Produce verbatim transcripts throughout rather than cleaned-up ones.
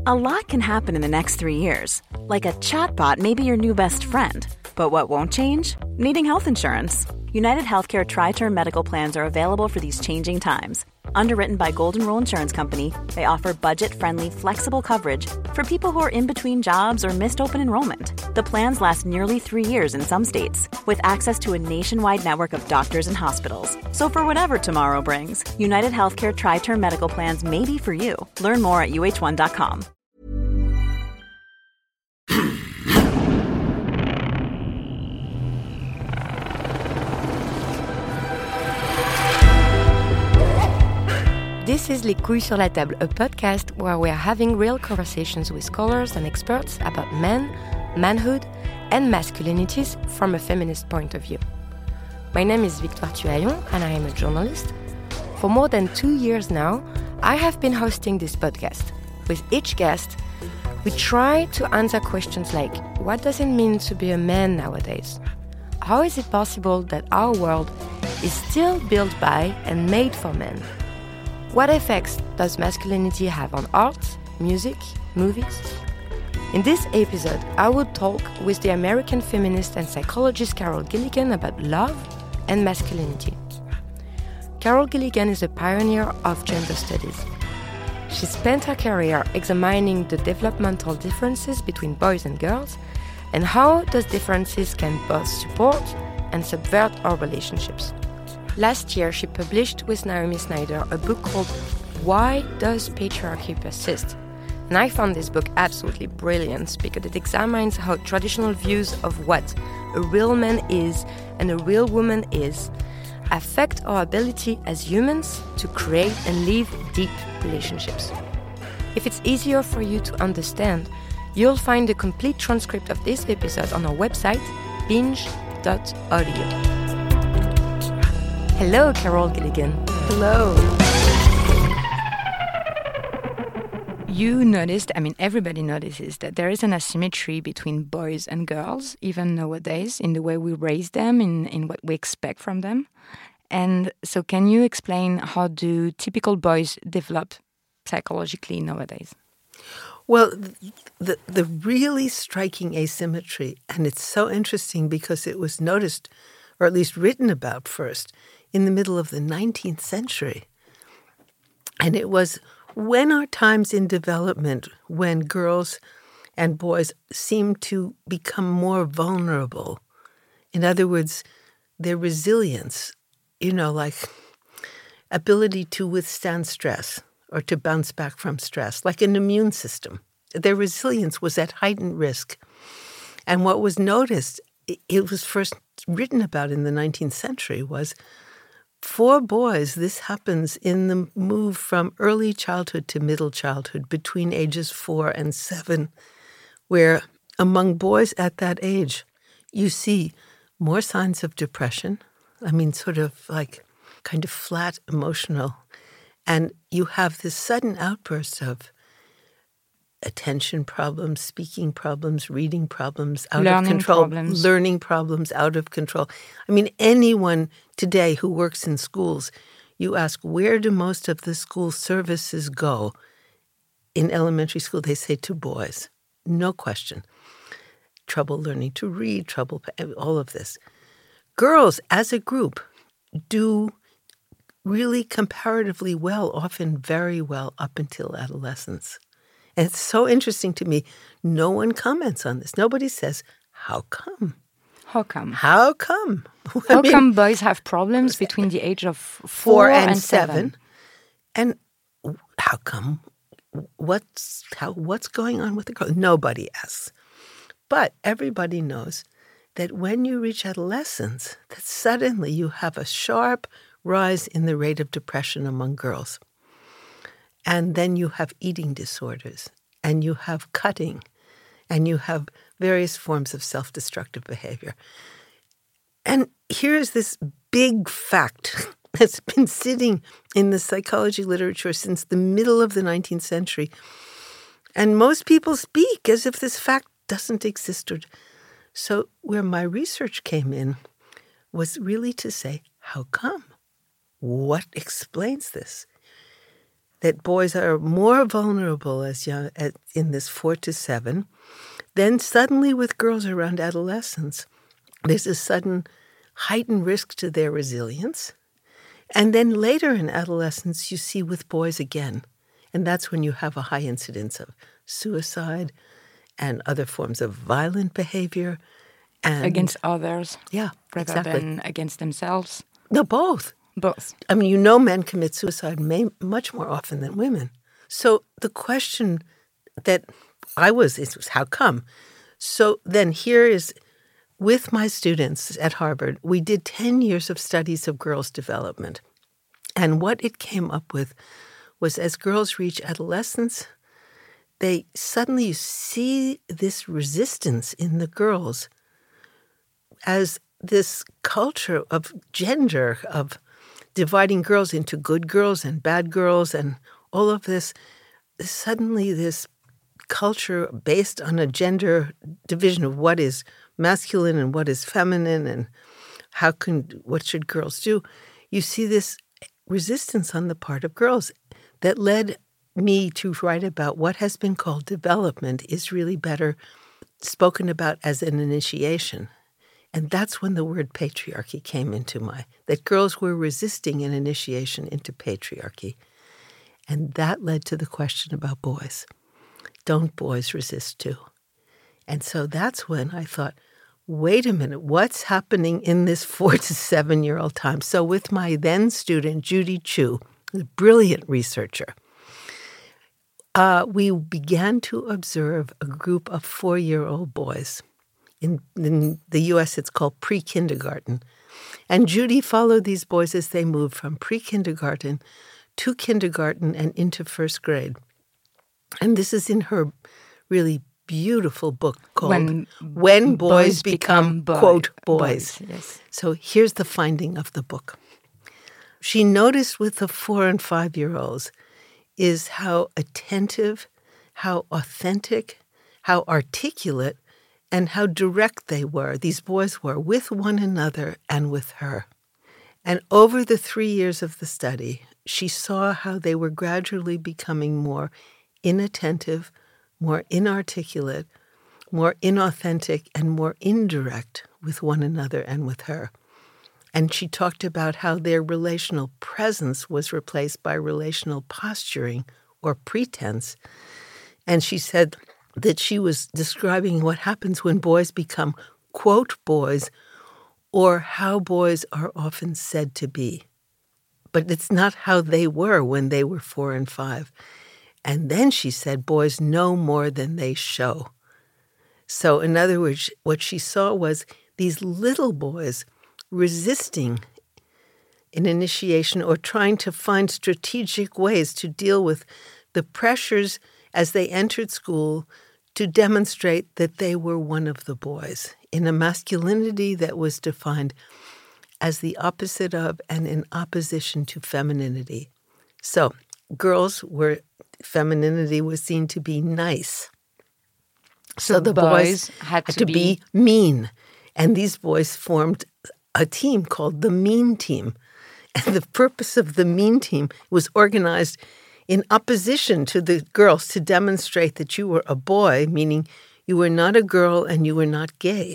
A lot can happen in the next three years. Like a chatbot may be your new best friend. But what won't change? Needing health insurance. United Healthcare Tri-Term Medical Plans are available for these changing times. Underwritten by Golden Rule Insurance Company, they offer budget-friendly, flexible coverage for people who are in between jobs or missed open enrollment. The plans last nearly three years in some states, with access to a nationwide network of doctors and hospitals. So for whatever tomorrow brings, United Healthcare Tri-Term Medical Plans may be for you. Learn more at U H one dot com. This is Les Couilles sur la Table, a podcast where we are having real conversations with scholars and experts about men, manhood, and masculinities from a feminist point of view. My name is Victoire Tuaillon, and I am a journalist. For more than two years now, I have been hosting this podcast. With each guest, we try to answer questions like, what does it mean to be a man nowadays? How is it possible that our world is still built by and made for men? What effects does masculinity have on art, music, movies? In this episode, I would talk with the American feminist and psychologist Carol Gilligan about love and masculinity. Carol Gilligan is a pioneer of gender studies. She spent her career examining the developmental differences between boys and girls and how those differences can both support and subvert our relationships. Last year, she published with Naomi Snyder a book called Why Does Patriarchy Persist? And I found this book absolutely brilliant because it examines how traditional views of what a real man is and a real woman is affect our ability as humans to create and live deep relationships. If it's easier for you to understand, you'll find a complete transcript of this episode on our website, binge dot audio. Hello, Carol Gilligan. Hello. You noticed, I mean, everybody notices that there is an asymmetry between boys and girls, even nowadays, in the way we raise them, in, in what we expect from them. And so can you explain how do typical boys develop psychologically nowadays? Well, the, the really striking asymmetry, and it's so interesting because it was noticed, or at least written about first, in the middle of the nineteenth century. And it was when our times in development, when girls and boys seem to become more vulnerable. In other words, their resilience, you know, like ability to withstand stress or to bounce back from stress, like an immune system. Their resilience was at heightened risk. And what was noticed, it was first written about in the nineteenth century, was for boys, this happens in the move from early childhood to middle childhood, between ages four and seven, where among boys at that age, you see more signs of depression. I mean, sort of like kind of flat emotional. And you have this sudden outburst of attention problems, speaking problems, reading problems, out learning of control, problems. learning problems, out of control. I mean, anyone today who works in schools, you ask, where do most of the school services go? In elementary school, they say to boys. No question. Trouble learning to read, trouble, all of this. Girls, as a group, do really comparatively well, often very well, up until adolescence. And it's so interesting to me. No one comments on this. Nobody says, how come? How come? How come? How I mean, come boys have problems between the age of four, four and, and seven? seven? And how come? What's how? What's going on with the girl? Nobody asks. But everybody knows that when you reach adolescence, that suddenly you have a sharp rise in the rate of depression among girls. And then you have eating disorders, and you have cutting, and you have various forms of self-destructive behavior. And here's this big fact that's been sitting in the psychology literature since the middle of the nineteenth century. And most people speak as if this fact doesn't exist. So where my research came in was really to say, how come? What explains this? that boys are more vulnerable as young as in this four to seven. Then suddenly with girls around adolescence, there's a sudden heightened risk to their resilience. And then later in adolescence, you see with boys again. And that's when you have a high incidence of suicide and other forms of violent behavior. And against others. Yeah, rather exactly. than against themselves. No, both. Both. I mean, you know men commit suicide may, much more often than women. So the question that I was, is was how come? So then here is, with my students at Harvard, we did ten years of studies of girls' development. And what it came up with was as girls reach adolescence, they suddenly see this resistance in the girls as this culture of gender, of dividing girls into good girls and bad girls and all of this, suddenly this culture based on a gender division of what is masculine and what is feminine and how can, what should girls do? You see this resistance on the part of girls that led me to write about what has been called development is really better spoken about as an initiation. And that's when the word patriarchy came into my, that girls were resisting an initiation into patriarchy. And that led to the question about boys. Don't boys resist too? And so that's when I thought, wait a minute, what's happening in this four to seven-year-old time? So with my then student, Judy Chu, a brilliant researcher, uh, we began to observe a group of four-year-old boys. In, in the U S, it's called pre-kindergarten. And Judy followed these boys as they moved from pre-kindergarten to kindergarten and into first grade. And this is in her really beautiful book called When, when Boys, Boys Become, Become Quote, Boys. boys yes. So here's the finding of the book. She noticed with the four- and five-year-olds is how attentive, how authentic, how articulate, and how direct they were, these boys were, with one another and with her. And over the three years of the study, she saw how they were gradually becoming more inattentive, more inarticulate, more inauthentic, and more indirect with one another and with her. And she talked about how their relational presence was replaced by relational posturing or pretense. And she said that she was describing what happens when boys become, quote, boys, or how boys are often said to be. But it's not how they were when they were four and five. And then she said boys know more than they show. So in other words, what she saw was these little boys resisting an initiation or trying to find strategic ways to deal with the pressures as they entered school to demonstrate that they were one of the boys in a masculinity that was defined as the opposite of and in opposition to femininity. So girls were, femininity was seen to be nice. So, so the boys, boys had, had to, to be, be mean. And these boys formed a team called the Mean Team. And the purpose of the Mean Team was organized in opposition to the girls to demonstrate that you were a boy, meaning you were not a girl and you were not gay.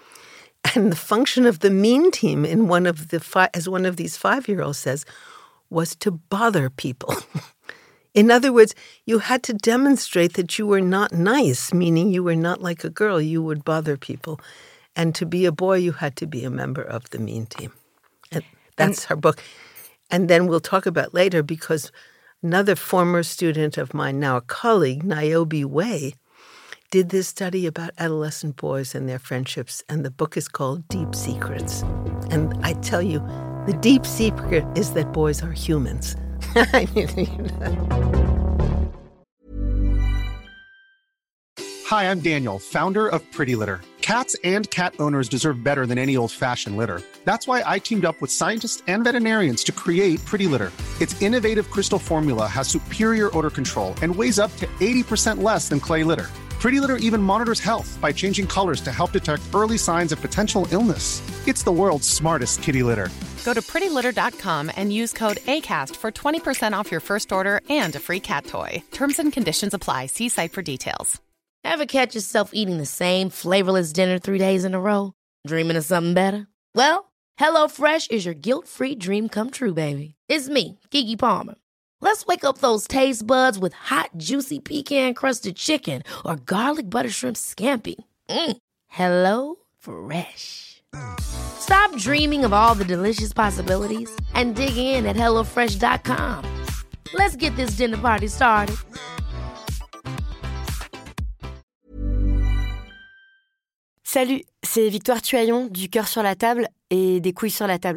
And the function of the Mean Team, in one of the fi- as one of these five-year-olds says, was to bother people. In other words, you had to demonstrate that you were not nice, meaning you were not like a girl. You would bother people. And to be a boy, you had to be a member of the Mean Team. And that's and, her book. And then we'll talk about later, because another former student of mine, now a colleague, Niobe Way, did this study about adolescent boys and their friendships, and the book is called Deep Secrets. And I tell you, the deep secret is that boys are humans. I mean, you know. Hi, I'm Daniel, founder of Pretty Litter. Cats and cat owners deserve better than any old-fashioned litter. That's why I teamed up with scientists and veterinarians to create Pretty Litter. Its innovative crystal formula has superior odor control and weighs up to eighty percent less than clay litter. Pretty Litter even monitors health by changing colors to help detect early signs of potential illness. It's the world's smartest kitty litter. Go to pretty litter dot com and use code ACAST for twenty percent off your first order and a free cat toy. Terms and conditions apply. See site for details. Ever catch yourself eating the same flavorless dinner three days in a row? Dreaming of something better? Well, HelloFresh is your guilt-free dream come true, baby. It's me, Keke Palmer. Let's wake up those taste buds with hot, juicy pecan-crusted chicken or garlic butter shrimp scampi. Mm. Hello Fresh. Stop dreaming of all the delicious possibilities and dig in at hello fresh dot com. Let's get this dinner party started. Salut, c'est Victoire Tuaillon du Cœur sur la table et des couilles sur la table.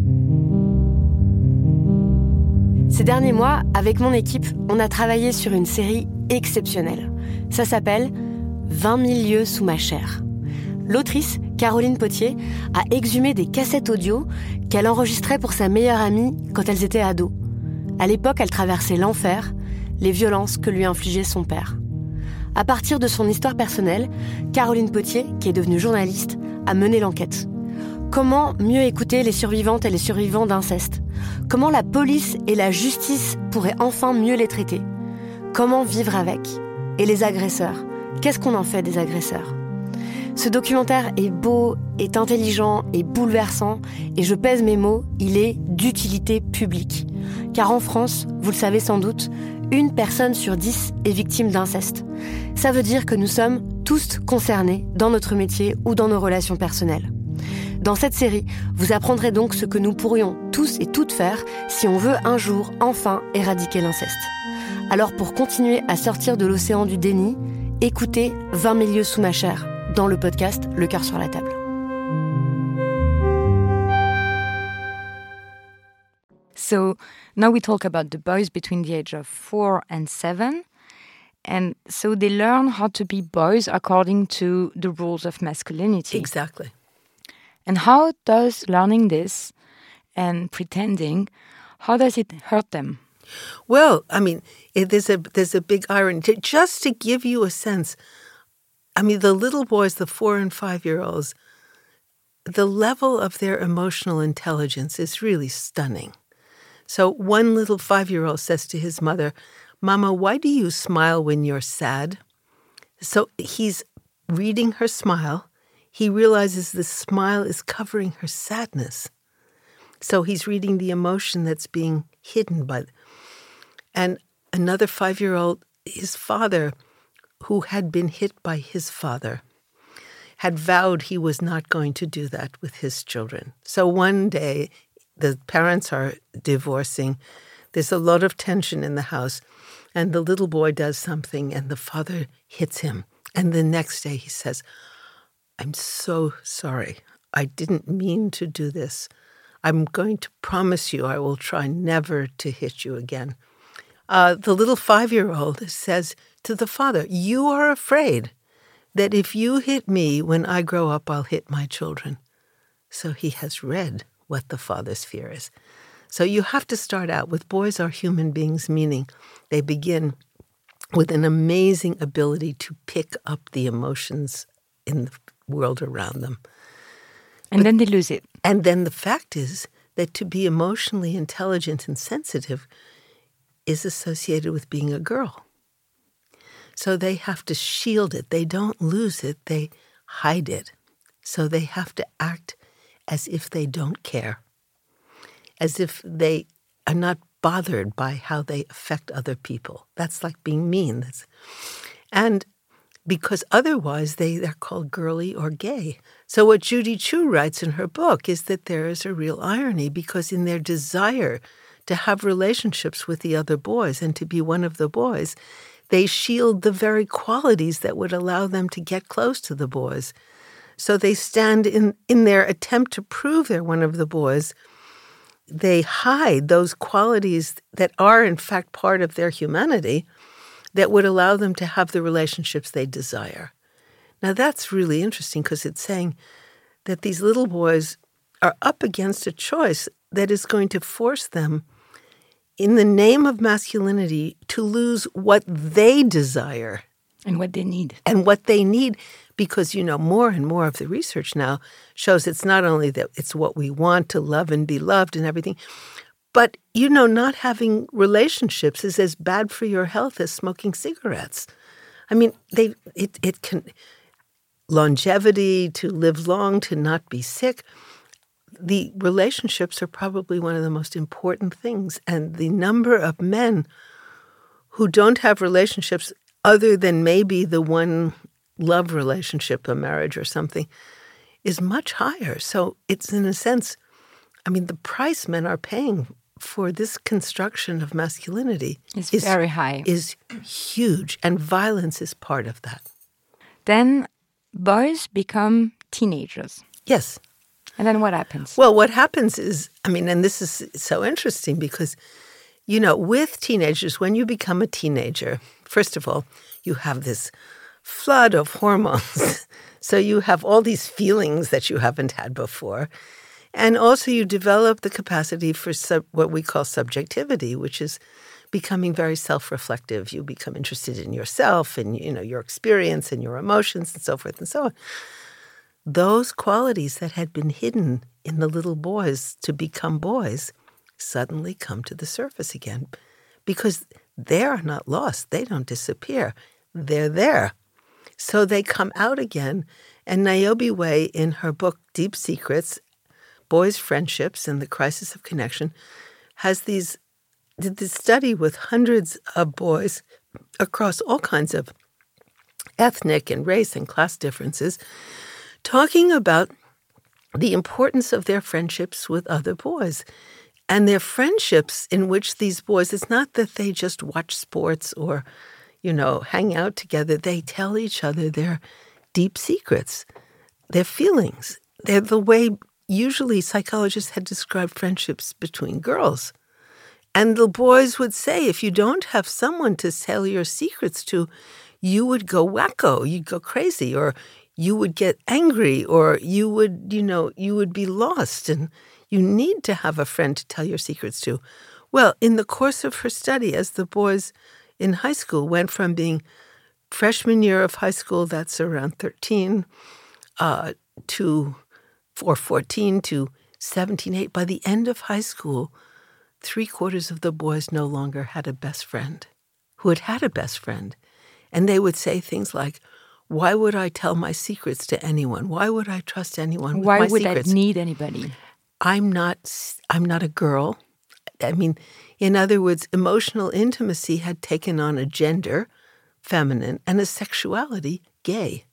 Ces derniers mois, avec mon équipe, on a travaillé sur une série exceptionnelle. Ça s'appelle « vingt mille lieues sous ma chair ». L'autrice, Caroline Potier, a exhumé des cassettes audio qu'elle enregistrait pour sa meilleure amie quand elles étaient ados. À l'époque, elle traversait l'enfer, les violences que lui infligeait son père. À partir de son histoire personnelle, Caroline Potier, qui est devenue journaliste, a mené l'enquête. Comment mieux écouter les survivantes et les survivants d'inceste ? Comment la police et la justice pourraient enfin mieux les traiter ? Comment vivre avec ? Et les agresseurs ? Qu'est-ce qu'on en fait des agresseurs ? Ce documentaire est beau, est intelligent, est bouleversant, et je pèse mes mots, il est d'utilité publique. Car en France, vous le savez sans doute, une personne sur dix est victime d'inceste. Ça veut dire que nous sommes tous concernés dans notre métier ou dans nos relations personnelles. Dans cette série, vous apprendrez donc ce que nous pourrions tous et toutes faire si on veut un jour enfin éradiquer l'inceste. Alors pour continuer à sortir de l'océan du déni, écoutez vingt mille lieues sous ma chair dans le podcast Le Cœur sur la table. So now we talk about the boys between the age of four and seven. And so they learn how to be boys according to the rules of masculinity. Exactly. And how does learning this and pretending, how does it hurt them? Well, I mean, it, there's a there's a big irony. To, just to give you a sense, I mean, the little boys, the four and five-year-olds, the level of their emotional intelligence is really stunning. So one little five-year-old says to his mother, "Mama, why do you smile when you're sad?" So he's reading her smile. He realizes the smile is covering her sadness. So he's reading the emotion that's being hidden by. And another five-year-old, his father, who had been hit by his father, had vowed he was not going to do that with his children. So one day, the parents are divorcing. There's a lot of tension in the house. And the little boy does something, and the father hits him. And the next day he says, "I'm so sorry. I didn't mean to do this. I'm going to promise you I will try never to hit you again." Uh, the little five-year-old says to the father, "You are afraid that if you hit me when I grow up, I'll hit my children." So he has read what the father's fear is. So you have to start out with boys are human beings, meaning they begin with an amazing ability to pick up the emotions in the world around them. And but, then they lose it. And then the fact is that to be emotionally intelligent and sensitive is associated with being a girl. So they have to shield it. They don't lose it. They hide it. So they have to act as if they don't care, as if they are not bothered by how they affect other people. That's like being mean. That's, and because otherwise they, they're called girly or gay. So what Judy Chu writes in her book is that there is a real irony, because in their desire to have relationships with the other boys and to be one of the boys, they shield the very qualities that would allow them to get close to the boys. So they stand in, in their attempt to prove they're one of the boys. They hide those qualities that are, in fact, part of their humanity that would allow them to have the relationships they desire. Now, that's really interesting, because it's saying that these little boys are up against a choice that is going to force them, in the name of masculinity, to lose what they desire. And what they need. And what they need, because, you know, more and more of the research now shows it's not only that it's what we want to love and be loved and everything, but, you know, not having relationships is as bad for your health as smoking cigarettes. I mean, they it it can longevity, to live long, to not be sick. The relationships are probably one of the most important things. And the number of men who don't have relationships other than maybe the one love relationship, a marriage or something, is much higher. So it's, in a sense, I mean, the price men are paying for this construction of masculinity is, is very high. Is huge, and violence is part of that. Then boys become teenagers. Yes. And then what happens? Well, what happens is, I mean, and this is so interesting because, you know, with teenagers, when you become a teenager, first of all, you have this flood of hormones. So you have all these feelings that you haven't had before. And also you develop the capacity for sub, what we call subjectivity, which is becoming very self-reflective. You become interested in yourself and, you know, your experience and your emotions and so forth and so on. Those qualities that had been hidden in the little boys to become boys suddenly come to the surface again because they are not lost. They don't disappear. They're there. So they come out again. And Niobe Way, in her book, Deep Secrets, Boys' Friendships and the Crisis of Connection, has these, did this study with hundreds of boys across all kinds of ethnic and race and class differences, talking about the importance of their friendships with other boys. And their friendships in which these boys, it's not that they just watch sports or, you know, hang out together. They tell each other their deep secrets, their feelings. They're the way usually psychologists had described friendships between girls. And the boys would say, if you don't have someone to tell your secrets to, you would go wacko, you'd go crazy, or you would get angry, or you would, you know, you would be lost, and you need to have a friend to tell your secrets to. Well, in the course of her study, as the boys in high school went from being freshman year of high school, that's around thirteen, uh, to or fourteen to seventeen, eight, by the end of high school, three quarters of the boys no longer had a best friend who had had a best friend. And they would say things like, why would I tell my secrets to anyone? Why would I trust anyone with Why my would secrets? I need anybody? I'm not, I'm not a girl. I mean, in other words, emotional intimacy had taken on a gender, feminine, and a sexuality, gay.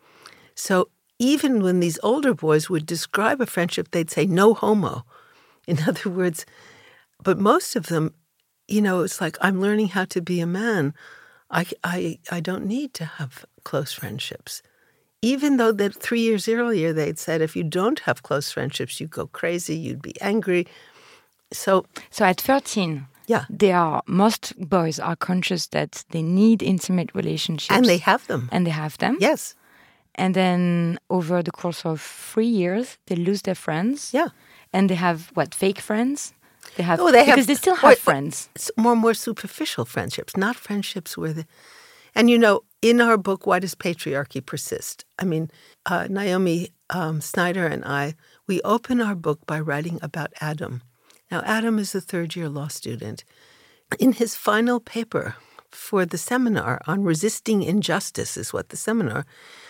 So even when these older boys would describe a friendship, they'd say, no homo. In other words, but most of them, you know, it's like, I'm learning how to be a man. I, I, I don't need to have close friendships. Even though that three years earlier they'd said, if you don't have close friendships, you go crazy, you'd be angry. So, so at thirteen, yeah, they are most boys are conscious that they need intimate relationships, and they have them, and they have them. Yes, and then over the course of three years, they lose their friends. Yeah, and they have what, fake friends? They have oh, they because have, they still have or, friends. It's more more superficial friendships, not friendships where the. And you know, in our book, Why Does Patriarchy Persist? I mean, uh, Naomi um, Snyder and I, we open our book by writing about Adam. Now, Adam is a third-year law student. In his final paper for the seminar on resisting injustice, is what the seminar,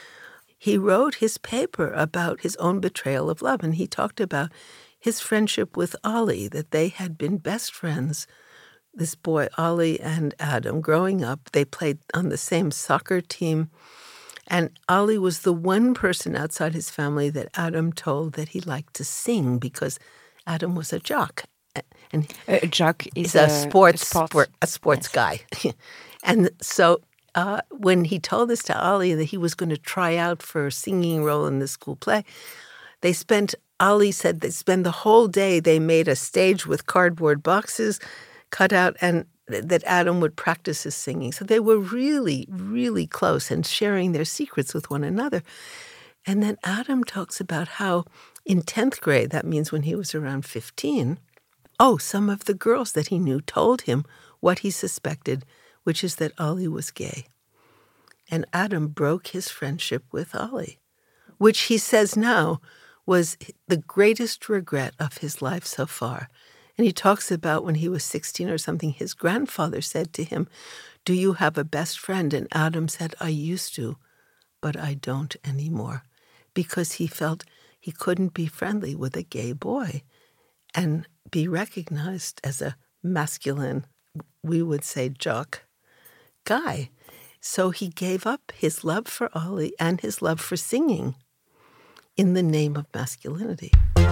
he wrote his paper about his own betrayal of love, and he talked about his friendship with Ali, that they had been best friends. This boy, Ali and Adam, growing up, they played on the same soccer team. And Ali was the one person outside his family that Adam told that he liked to sing because Adam was a jock. And a jock is a, a sports, a sports, sport, a sports yes. guy. And so uh, when he told this to Ali that he was going to try out for a singing role in the school play, they spent, Ali said they spent the whole day, they made a stage with cardboard boxes cut out, and th- that Adam would practice his singing. So they were really, really close and sharing their secrets with one another. And then Adam talks about how in tenth grade, that means when he was around fifteen, oh, some of the girls that he knew told him what he suspected, which is that Ali was gay. And Adam broke his friendship with Ollie, which he says now was the greatest regret of his life so far. And he talks about when he was sixteen or something, his grandfather said to him, "Do you have a best friend?" And Adam said, "I used to, but I don't anymore," because he felt he couldn't be friendly with a gay boy and be recognized as a masculine, we would say jock, guy. So he gave up his love for Ollie and his love for singing in the name of masculinity.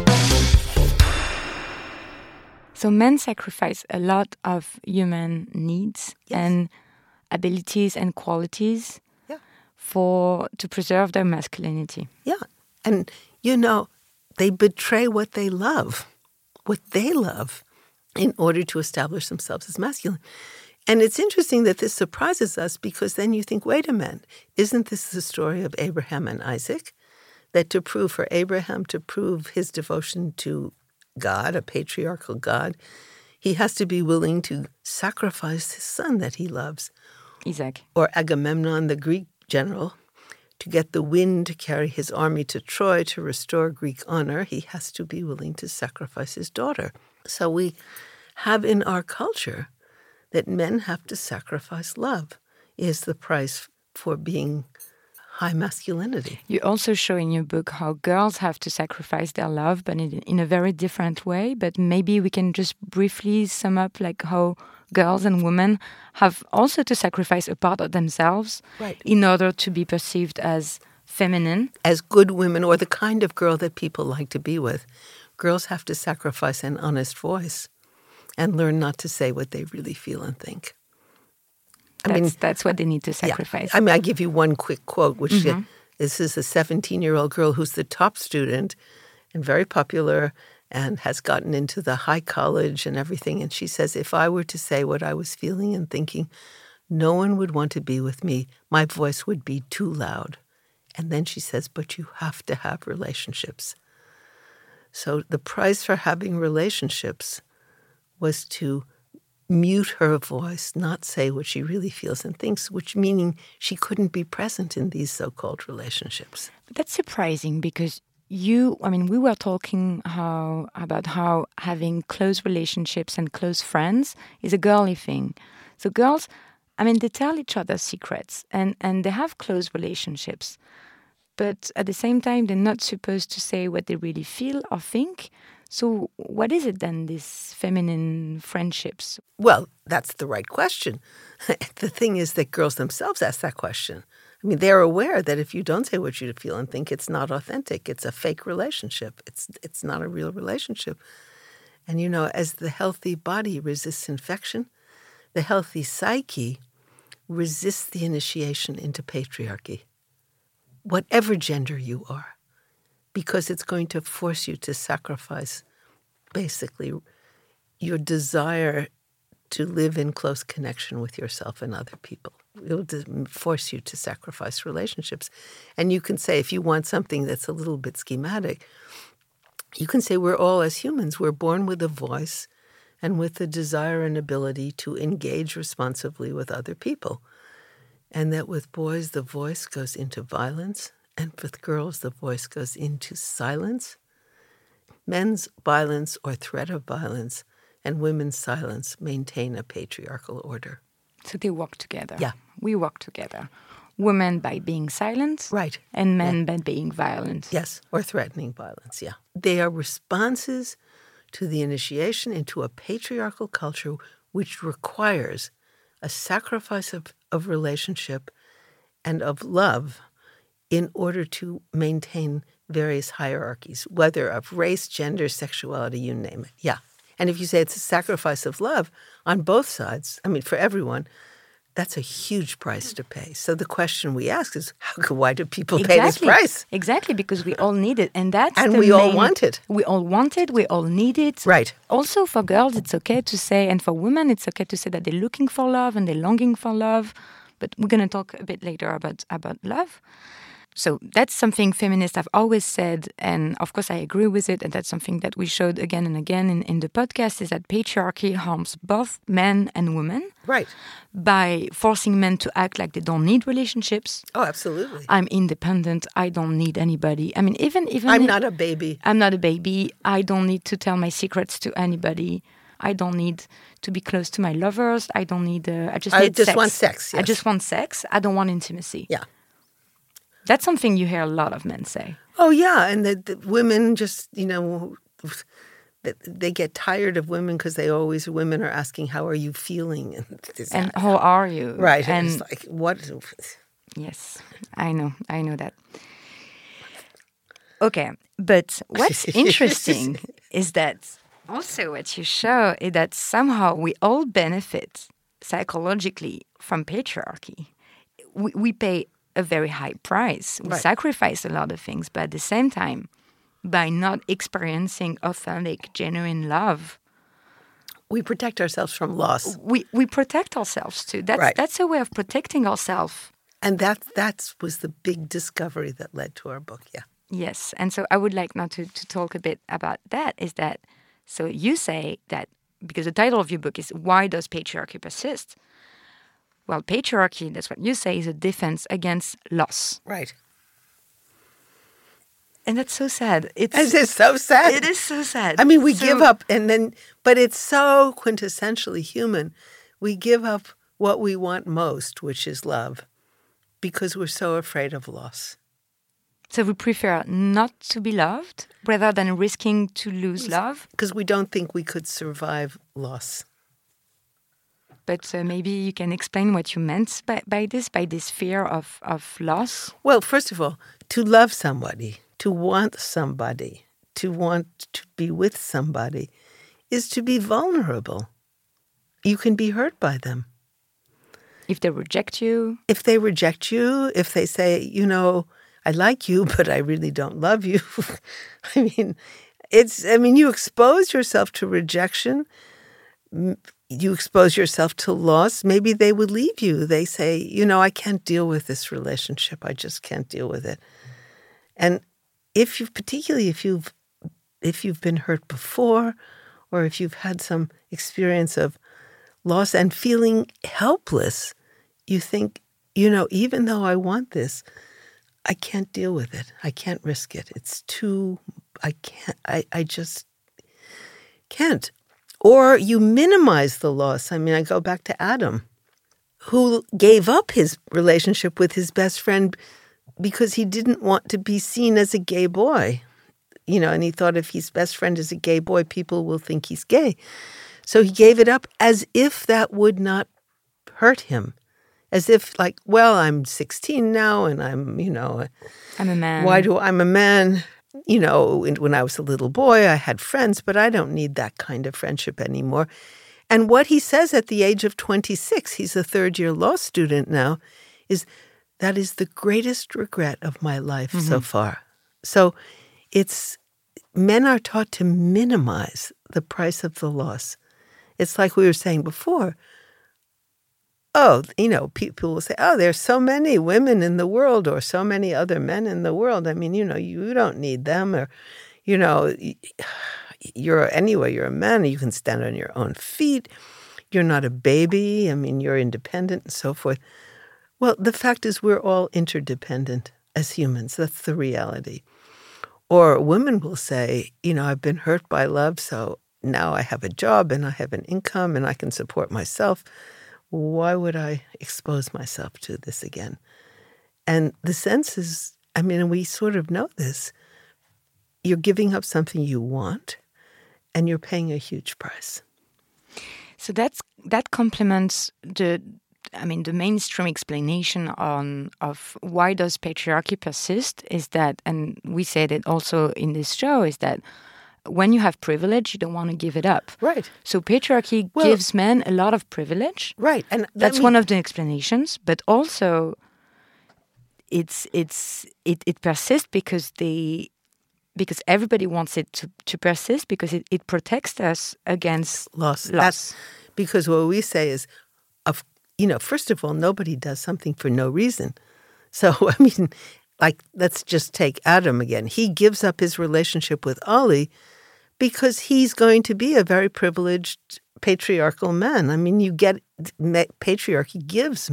So men sacrifice a lot of human needs Yes. and abilities and qualities Yeah. for to preserve their masculinity. Yeah. And, you know, they betray what they love, what they love, in order to establish themselves as masculine. And it's interesting that this surprises us because then you think, wait a minute, isn't this the story of Abraham and Isaac? That to prove for Abraham, to prove his devotion to God, a patriarchal God, he has to be willing to sacrifice his son that he loves. Isaac. Or Agamemnon, the Greek general, to get the wind to carry his army to Troy to restore Greek honor, he has to be willing to sacrifice his daughter. So we have in our culture that men have to sacrifice love is the price for being high masculinity. You also show in your book how girls have to sacrifice their love, but in, in a very different way. But maybe we can just briefly sum up like how girls and women have also to sacrifice a part of themselves Right. in order to be perceived as feminine. As good women, or the kind of girl that people like to be with, girls have to sacrifice an honest voice and learn not to say what they really feel and think. I That's, mean, that's what they need to sacrifice. Yeah. I mean, I give you one quick quote, which mm-hmm. uh, this is a seventeen-year-old girl who's the top student and very popular and has gotten into the high college and everything. And she says, if I were to say what I was feeling and thinking, no one would want to be with me. My voice would be too loud. And then she says, but you have to have relationships. So the price for having relationships was to mute her voice, not say what she really feels and thinks, which meaning she couldn't be present in these so-called relationships. But that's surprising because you, I mean, we were talking how about how having close relationships and close friends is a girly thing. So girls, I mean, they tell each other secrets and, and they have close relationships. But at the same time, they're not supposed to say what they really feel or think. So what is it then, these feminine friendships? Well, that's the right question. The thing is that girls themselves ask that question. I mean, they're aware that if you don't say what you feel and think, it's not authentic. It's a fake relationship. It's it's not a real relationship. And, you know, as the healthy body resists infection, the healthy psyche resists the initiation into patriarchy, whatever gender you are, because it's going to force you to sacrifice, basically, your desire to live in close connection with yourself and other people. It will force you to sacrifice relationships. And you can say, if you want something that's a little bit schematic, you can say we're all, as humans, we're born with a voice and with the desire and ability to engage responsively with other people. And that with boys, the voice goes into violence, and with girls, the voice goes into silence. Men's violence or threat of violence and women's silence maintain a patriarchal order. So they work together. Yeah. We work together. Women by being silent. Right. And men Yeah. by being violent. Yes, or threatening violence, yeah. They are responses to the initiation into a patriarchal culture which requires a sacrifice of, of relationship and of love in order to maintain various hierarchies, whether of race, gender, sexuality, you name it. Yeah. And if you say it's a sacrifice of love on both sides, I mean, for everyone, that's a huge price to pay. So the question we ask is, how, why do people Exactly. pay this price? Exactly, because we all need it. And that's And the we all main- want it. We all want it. We all need it. Right. Also, for girls, it's okay to say, and for women, it's okay to say that they're looking for love and they're longing for love. But we're going to talk a bit later about, about love. So that's something feminists have always said, and of course I agree with it, and that's something that we showed again and again in, in the podcast, is that patriarchy harms both men and women. Right. By forcing men to act like they don't need relationships. Oh, absolutely. I'm independent. I don't need anybody. I mean, even... even I'm if, not a baby. I'm not a baby. I don't need to tell my secrets to anybody. I don't need to be close to my lovers. I don't need... Uh, I just I need just sex. want sex, yes. I just want sex. I don't want intimacy. Yeah. That's something you hear a lot of men say. Oh, yeah. And the, the women just, you know, they get tired of women because they always, women are asking, how are you feeling? And, and how are you? Right. And it's like, what? Yes, I know. I know that. Okay. But what's interesting is that also what you show is that somehow we all benefit psychologically from patriarchy. We, we pay a very high price. We right. sacrifice a lot of things, but at the same time, by not experiencing authentic, genuine love, we protect ourselves from loss. We we protect ourselves too. That's right. that's a way of protecting ourselves. And that that was the big discovery that led to our book. Yeah. Yes, and so I would like now to to talk a bit about that. Is that so? You say that because the title of your book is "Why Does Patriarchy Persist?" Well, patriarchy, that's what you say, is a defense against loss. Right. And that's so sad. It's, it is so sad. It is so sad. I mean, we so, give up and then, but it's so quintessentially human. We give up what we want most, which is love, because we're so afraid of loss. So we prefer not to be loved rather than risking to lose love? Because we don't think we could survive loss. But uh, maybe you can explain what you meant by, by this, by this fear of, of loss? Well, first of all, to love somebody, to want somebody, to want to be with somebody is to be vulnerable. You can be hurt by them. If they reject you? If they reject you, if they say, you know, I like you, but I really don't love you. I mean, it's, I mean, you expose yourself to rejection. You expose yourself to loss. Maybe they would leave you. They say, you know, I can't deal with this relationship. I just can't deal with it. And if you, particularly if you've, if you've been hurt before, or if you've had some experience of loss and feeling helpless, you think, you know, even though I want this, I can't deal with it. I can't risk it. It's too, I can't, I, I just can't. Or you minimize the loss. I mean, I go back to Adam, who gave up his relationship with his best friend because he didn't want to be seen as a gay boy. You know, and he thought if his best friend is a gay boy, people will think he's gay. So he gave it up as if that would not hurt him. As if, like, well, I'm sixteen now and I'm, you know. I'm a man. Why do I'm a man? You know, when I was a little boy, I had friends, but I don't need that kind of friendship anymore. And what he says at the age of twenty-six, he's a third-year law student now, is that is the greatest regret of my life mm-hmm. so far. So it's, men are taught to minimize the price of the loss. It's like we were saying before. Oh, you know, people will say, oh, there's so many women in the world or so many other men in the world. I mean, you know, you don't need them or, you know, you're anyway, you're a man, you can stand on your own feet. You're not a baby. I mean, you're independent and so forth. Well, the fact is we're all interdependent as humans. That's the reality. Or women will say, you know, I've been hurt by love, so now I have a job and I have an income and I can support myself. Why would I expose myself to this again? And the sense is, I mean, we sort of know this. You're giving up something you want, and you're paying a huge price. So that's that complements the, I mean, the mainstream explanation on of why does patriarchy persist is that, and we said it also in this show, is that when you have privilege, you don't want to give it up. Right. So patriarchy well, gives men a lot of privilege. Right. And that that's mean- one of the explanations. But also, it's it's it, it persists because they because everybody wants it to, to persist because it, it protects us against loss. loss. That's because what we say is, of you know, first of all, nobody does something for no reason. So I mean, like, let's just take Adam again. He gives up his relationship with Ollie because he's going to be a very privileged patriarchal man. I mean, you get patriarchy gives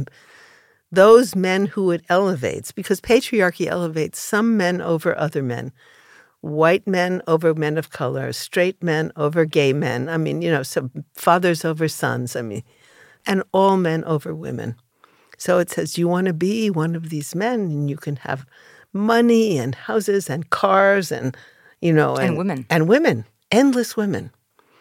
those men who it elevates, because patriarchy elevates some men over other men. White men over men of color, straight men over gay men. I mean, you know, some fathers over sons. I mean, and all men over women. So it says you want to be one of these men, and you can have money and houses and cars and, you know, and, and women and women, endless women.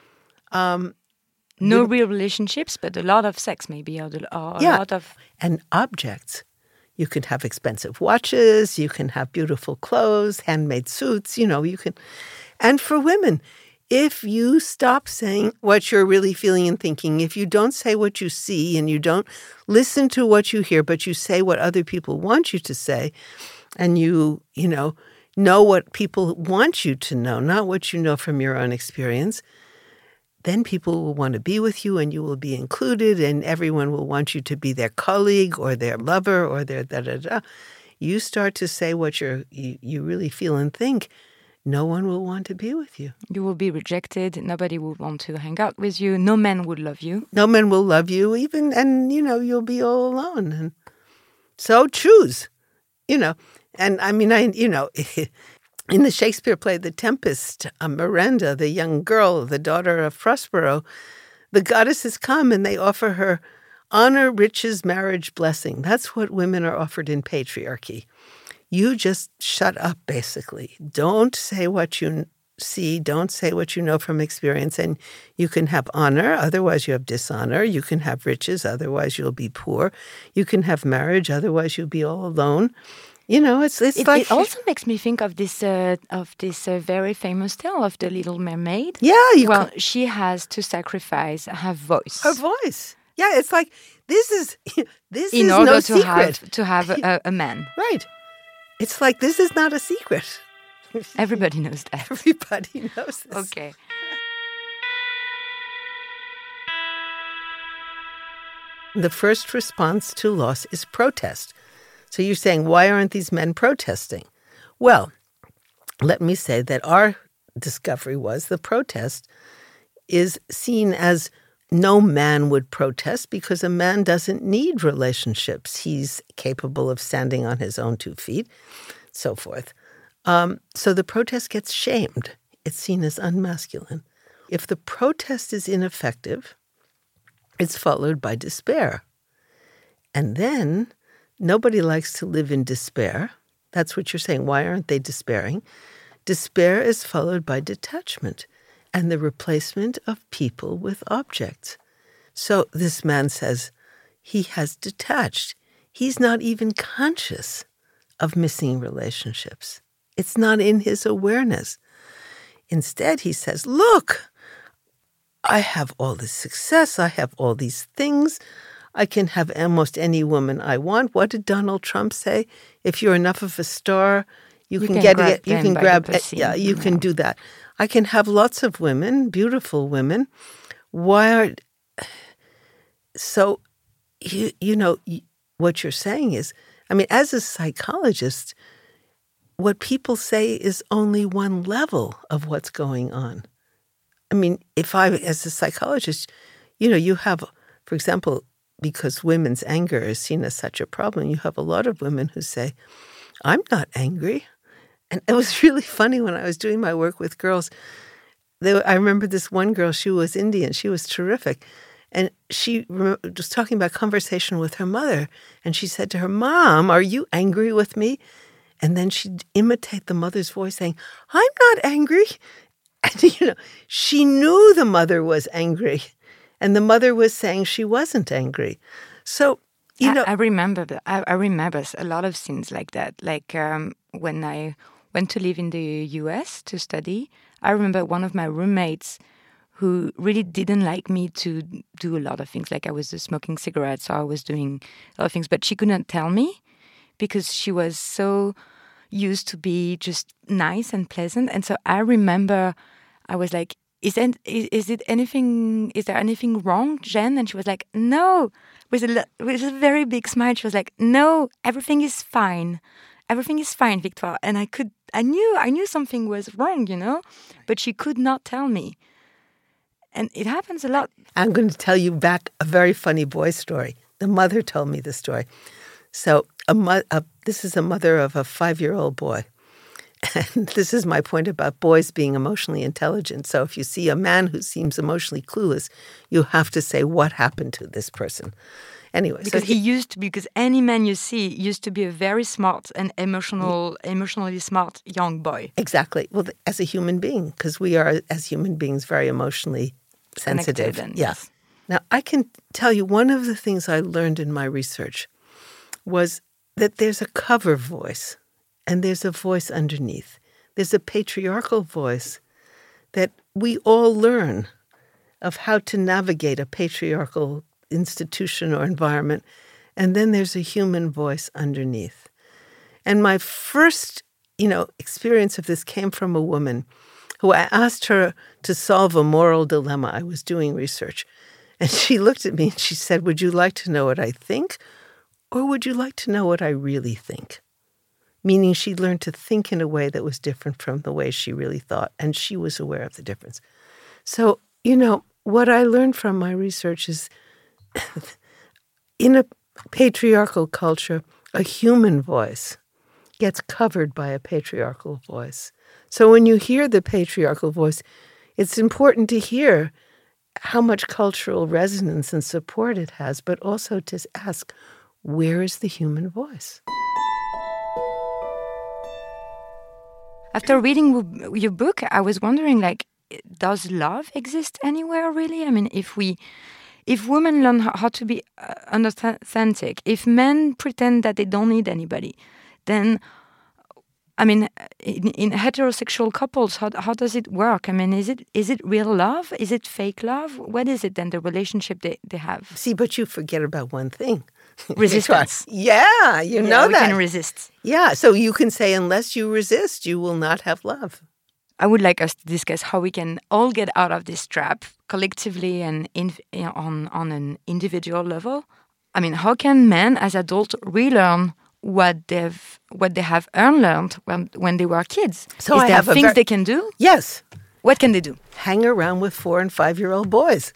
Um, no real relationships, but a lot of sex, maybe, or, or a yeah, lot of and objects. You can have expensive watches, you can have beautiful clothes, handmade suits, you know, you can. And for women, if you stop saying what you're really feeling and thinking, if you don't say what you see and you don't listen to what you hear, but you say what other people want you to say, and you, you know, know what people want you to know, not what you know from your own experience, then people will want to be with you and you will be included and everyone will want you to be their colleague or their lover or their da-da-da. You start to say what you're, you, you really feel and think, no one will want to be with you. You will be rejected. Nobody will want to hang out with you. No man would love you. No man will love you even, and, you know, you'll be all alone. And so choose, you know. And I mean, I, you know, in the Shakespeare play, The Tempest, uh, Miranda, the young girl, the daughter of Prospero, the goddesses come and they offer her honor, riches, marriage, blessing. That's what women are offered in patriarchy. You just shut up, basically. Don't say what you see. Don't say what you know from experience. And you can have honor, otherwise you have dishonor. You can have riches, otherwise you'll be poor. You can have marriage, otherwise you'll be all alone. You know, it's it's it, like it also makes me think of this uh, of this uh, very famous tale of the Little Mermaid. Yeah, you well, can, she has to sacrifice her voice. Her voice. Yeah, it's like this is this in is order no to secret. have to have a, a man. Right. It's like this is not a secret. Everybody knows that. Everybody knows this. Okay. The first response to loss is protest. So you're saying, why aren't these men protesting? Well, let me say that our discovery was the protest is seen as no man would protest because a man doesn't need relationships. He's capable of standing on his own two feet, so forth. Um, so the protest gets shamed. It's seen as unmasculine. If the protest is ineffective, it's followed by despair. And then nobody likes to live in despair. That's what you're saying. Why aren't they despairing? Despair is followed by detachment and the replacement of people with objects. So this man says he has detached. He's not even conscious of missing relationships. It's not in his awareness. Instead, he says, look, I have all this success. I have all these things. I can have almost any woman I want. What did Donald Trump say? If you're enough of a star, you, you can, can get grab it. You can grab it. Yeah, you yeah. can do that. I can have lots of women, beautiful women. Why are so? You you know what you're saying is, I mean, as a psychologist, what people say is only one level of what's going on. I mean, if I, as a psychologist, you know, you have, for example, because women's anger is seen as such a problem, you have a lot of women who say, I'm not angry. And it was really funny when I was doing my work with girls. They, I remember this one girl, she was Indian. She was terrific. And she was talking about conversation with her mother. And she said to her, Mom, are you angry with me? And then she'd imitate the mother's voice saying, I'm not angry. And, you know, she knew the mother was angry. And the mother was saying she wasn't angry. So, you I, know. I remember, I, I remember a lot of scenes like that. Like um, when I went to live in the U S to study, I remember one of my roommates who really didn't like me to do a lot of things. Like I was smoking cigarettes, or I was doing a lot of things, but she couldn't tell me because she was so used to be just nice and pleasant. And so I remember I was like, is, it, is it anything, is there anything wrong, Jen? And she was like, no, with a, with a very big smile. She was like, no, everything is fine. everything is fine, Victoire. And I could, I knew, I knew something was wrong, you know, but she could not tell me. And it happens a lot. I'm going to tell you back a very funny boy story. The mother told me the story. So a, mo- a this is a mother of a five-year-old boy. And this is my point about boys being emotionally intelligent. So if you see a man who seems emotionally clueless, you have to say, what happened to this person? Anyway, because so he, he used to be, because any man you see used to be a very smart and emotional, emotionally smart young boy. Exactly. Well, as a human being, because we are, as human beings, very emotionally sensitive. And, yeah. yes. Now, I can tell you one of the things I learned in my research was that there's a cover voice and there's a voice underneath. There's a patriarchal voice that we all learn of how to navigate a patriarchal institution or environment, and then there's a human voice underneath. And my first, you know, experience of this came from a woman who I asked her to solve a moral dilemma. I was doing research. And she looked at me and she said, would you like to know what I think, or would you like to know what I really think? Meaning she learned to think in a way that was different from the way she really thought, and she was aware of the difference. So, you know, what I learned from my research is in a patriarchal culture, a human voice gets covered by a patriarchal voice. So when you hear the patriarchal voice, it's important to hear how much cultural resonance and support it has, but also to ask, where is the human voice? After reading w- your book, I was wondering, like, does love exist anywhere, really? I mean, if we, if women learn how, how to be uh, authentic, if men pretend that they don't need anybody, then, I mean, in, in heterosexual couples, how how does it work? I mean, is it is it real love? Is it fake love? What is it then, the relationship they, they have? See, but you forget about one thing. Resistance. Yeah, you yeah, know we that. can resist. Yeah, so you can say, unless you resist, you will not have love. I would like us to discuss how we can all get out of this trap collectively and in, on, on an individual level. I mean, how can men as adults relearn what they've what they have unlearned when when they were kids? So Is I there have a things ver- they can do? Yes. What can they do? Hang around with four and five-year-old boys.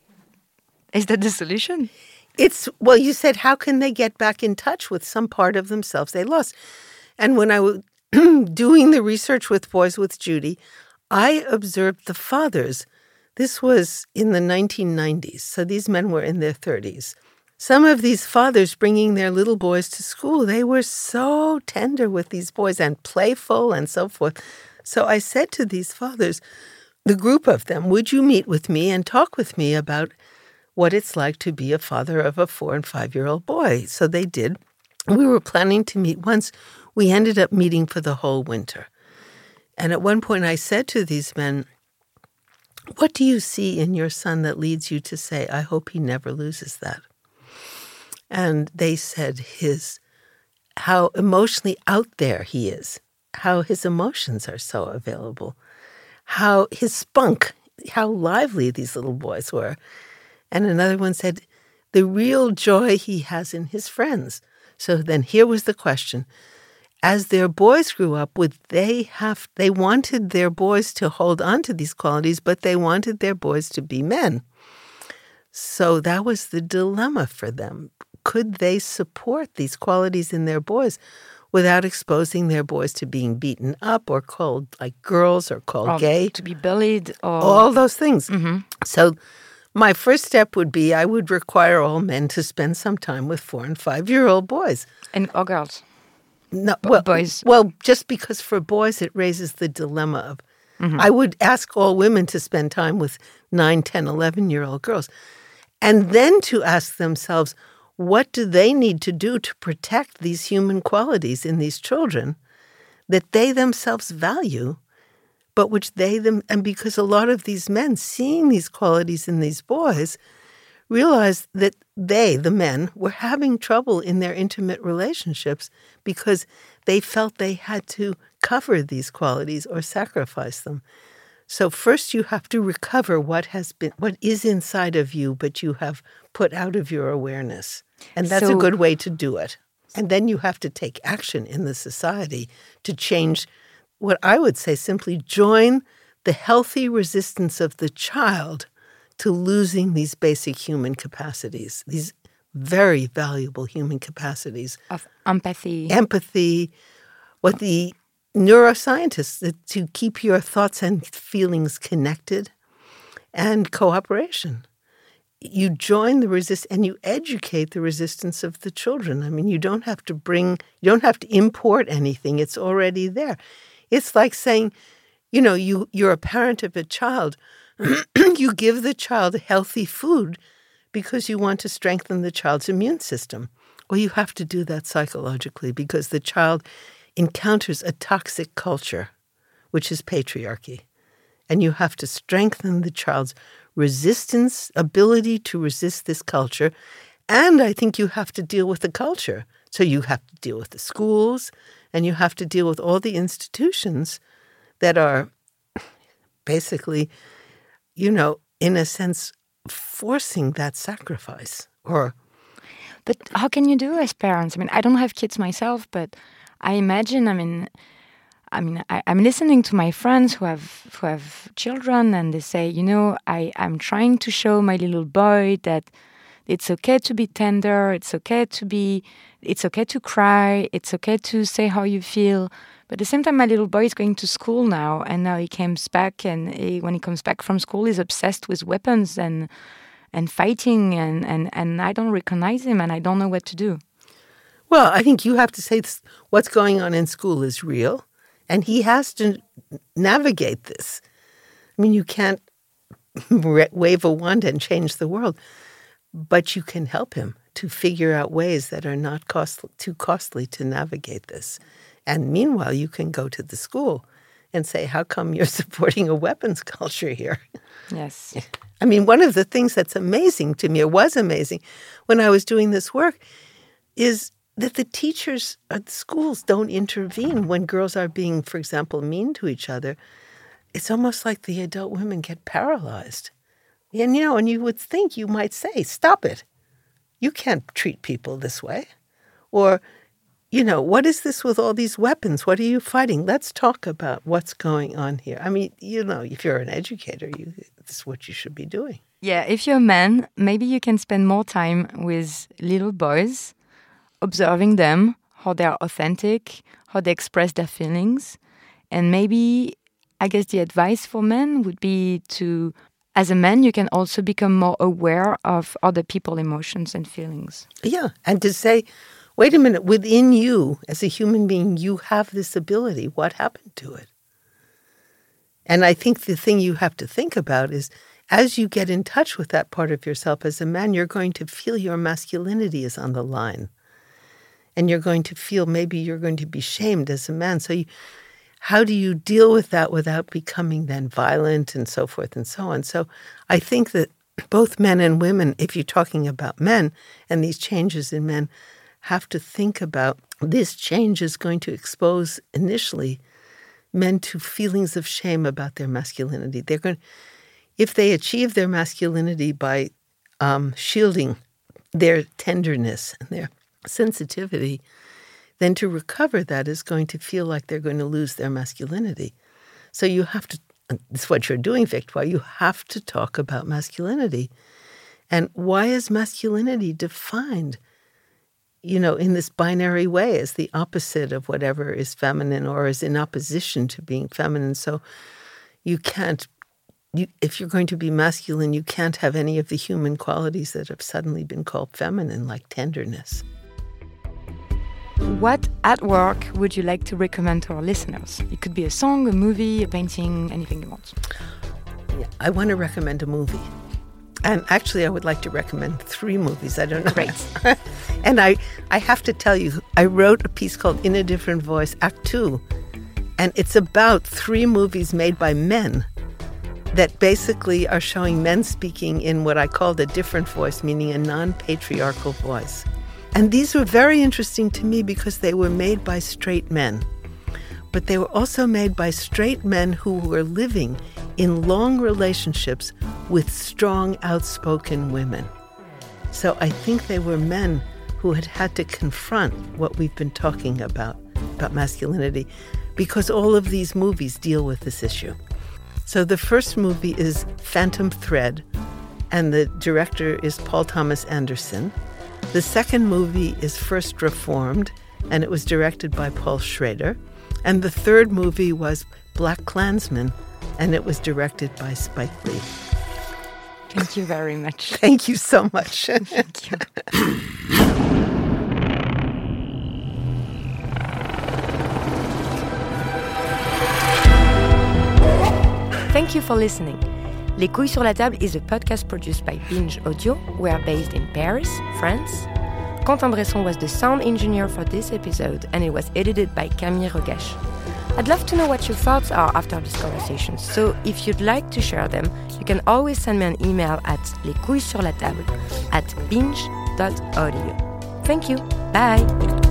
Is that the solution? It's, well, you said, how can they get back in touch with some part of themselves they lost? And when I was doing the research with Boys with Judy, I observed the fathers. This was in the nineteen nineties, so these men were in their thirties. Some of these fathers bringing their little boys to school, they were so tender with these boys and playful and so forth. So I said to these fathers, the group of them, would you meet with me and talk with me about what it's like to be a father of a four and five-year-old boy? So they did. We were planning to meet once. We ended up meeting for the whole winter. And at one point I said to these men, what do you see in your son that leads you to say, I hope he never loses that? And they said his, how emotionally out there he is, how his emotions are so available, how his spunk, how lively these little boys were. And another one said, the real joy he has in his friends. So then here was the question. As their boys grew up, would they have, they wanted their boys to hold on to these qualities, but they wanted their boys to be men. So that was the dilemma for them. Could they support these qualities in their boys without exposing their boys to being beaten up or called like girls or called or gay? To be bullied or... All those things. Mm-hmm. So my first step would be I would require all men to spend some time with four and five-year-old boys. And or girls. No, B- well, boys. Well, just because for boys it raises the dilemma of, mm-hmm. I would ask all women to spend time with nine, ten, eleven-year-old girls. And then to ask themselves, what do they need to do to protect these human qualities in these children that they themselves value, but which they them, and because a lot of these men seeing these qualities in these boys realized that they, the men, were having trouble in their intimate relationships because they felt they had to cover these qualities or sacrifice them. So first you have to recover what has been, what is inside of you, but you have put out of your awareness. And that's so, a good way to do it. And then you have to take action in the society to change what I would say simply join the healthy resistance of the child to losing these basic human capacities, these very valuable human capacities. Of empathy. Empathy, what the neuroscientists, to keep your thoughts and feelings connected, and cooperation. You join the resist and you educate the resistance of the children. I mean, you don't have to bring, you don't have to import anything. It's already there. It's like saying, you know, you, you're a parent of a child. You give the child healthy food because you want to strengthen the child's immune system. Well, you have to do that psychologically because the child encounters a toxic culture, which is patriarchy. And you have to strengthen the child's resistance, ability to resist this culture. And I think you have to deal with the culture. So you have to deal with the schools, and you have to deal with all the institutions that are basically, you know, in a sense, forcing that sacrifice. Or, But how can you do as parents? I mean, I don't have kids myself, but I imagine, I mean, I mean, I, I'm listening to my friends who have who have children, and they say, you know, I, I'm trying to show my little boy that it's okay to be tender, it's okay to be, it's okay to cry, it's okay to say how you feel. But at the same time, my little boy is going to school now, and now he comes back, and he, when he comes back from school, he's obsessed with weapons and and fighting, and, and, and I don't recognize him, and I don't know what to do. Well, I think you have to say this, what's going on in school is real. And he has to navigate this. I mean, you can't wave a wand and change the world, but you can help him to figure out ways that are not cost- too costly to navigate this. And meanwhile, you can go to the school and say, how come you're supporting a weapons culture here? Yes. I mean, one of the things that's amazing to me, or was amazing, when I was doing this work, is that the teachers at the schools don't intervene when girls are being, for example, mean to each other. It's almost like the adult women get paralyzed. And, you know, and you would think, you might say, stop it. You can't treat people this way. Or, you know, what is this with all these weapons? What are you fighting? Let's talk about what's going on here. I mean, you know, if you're an educator, you, this is what you should be doing. Yeah, if you're a man, maybe you can spend more time with little boys, observing them, how they're authentic, how they express their feelings. And maybe, I guess the advice for men would be to, as a man, you can also become more aware of other people's emotions and feelings. Yeah, and to say, wait a minute, within you, as a human being, you have this ability. What happened to it? And I think the thing you have to think about is, as you get in touch with that part of yourself as a man, you're going to feel your masculinity is on the line. And you're going to feel maybe you're going to be shamed as a man. So you, how do you deal with that without becoming then violent and so forth and so on? So I think that both men and women, if you're talking about men and these changes in men, have to think about this change is going to expose initially men to feelings of shame about their masculinity. They're going, if they achieve their masculinity by um, shielding their tenderness and their sensitivity, then to recover that is going to feel like they're going to lose their masculinity. So you have to, it's what you're doing, Victoire, you have to talk about masculinity. And why is masculinity defined, you know, in this binary way as the opposite of whatever is feminine or is in opposition to being feminine? So you can't, you, if you're going to be masculine, you can't have any of the human qualities that have suddenly been called feminine, like tenderness. What artwork would you like to recommend to our listeners? It could be a song, a movie, a painting, anything you want. Yeah, I want to recommend a movie. And actually, I would like to recommend three movies. I don't know. Great. And I, I have to tell you, I wrote a piece called In a Different Voice, Act Two. And it's about three movies made by men that basically are showing men speaking in what I called a different voice, meaning a non-patriarchal voice. And these were very interesting to me because they were made by straight men. But they were also made by straight men who were living in long relationships with strong, outspoken women. So I think they were men who had had to confront what we've been talking about, about masculinity, because all of these movies deal with this issue. So the first movie is Phantom Thread, and the director is Paul Thomas Anderson. The second movie is First Reformed, and it was directed by Paul Schrader. And the third movie was Black Klansman, and it was directed by Spike Lee. Thank you very much. Thank you so much. Thank you. Thank you for listening. Les Couilles sur la Table is a podcast produced by Binge Audio. We are based in Paris, France. Quentin Bresson was the sound engineer for this episode, and it was edited by Camille Rogache. I'd love to know what your thoughts are after this conversation, so if you'd like to share them, you can always send me an email at lescouillessurlatable at binge dot audio. Thank you. Bye.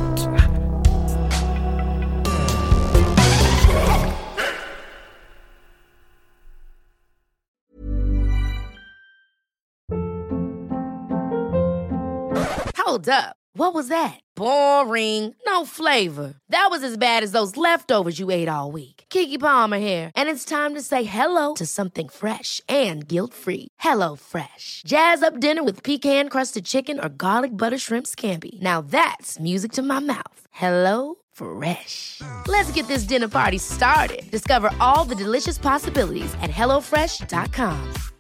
Hold up. What was that? Boring. No flavor. That was as bad as those leftovers you ate all week. Keke Palmer here, and it's time to say hello to something fresh and guilt-free. Hello Fresh. Jazz up dinner with pecan-crusted chicken or garlic butter shrimp scampi. Now that's music to my mouth. Hello Fresh. Let's get this dinner party started. Discover all the delicious possibilities at hello fresh dot com.